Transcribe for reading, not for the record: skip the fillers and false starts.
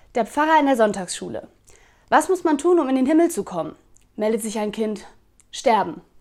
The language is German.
Der Pfarrer in der Sonntagsschule. Was muss man tun, um in den Himmel zu kommen? Meldet sich ein Kind. Sterben.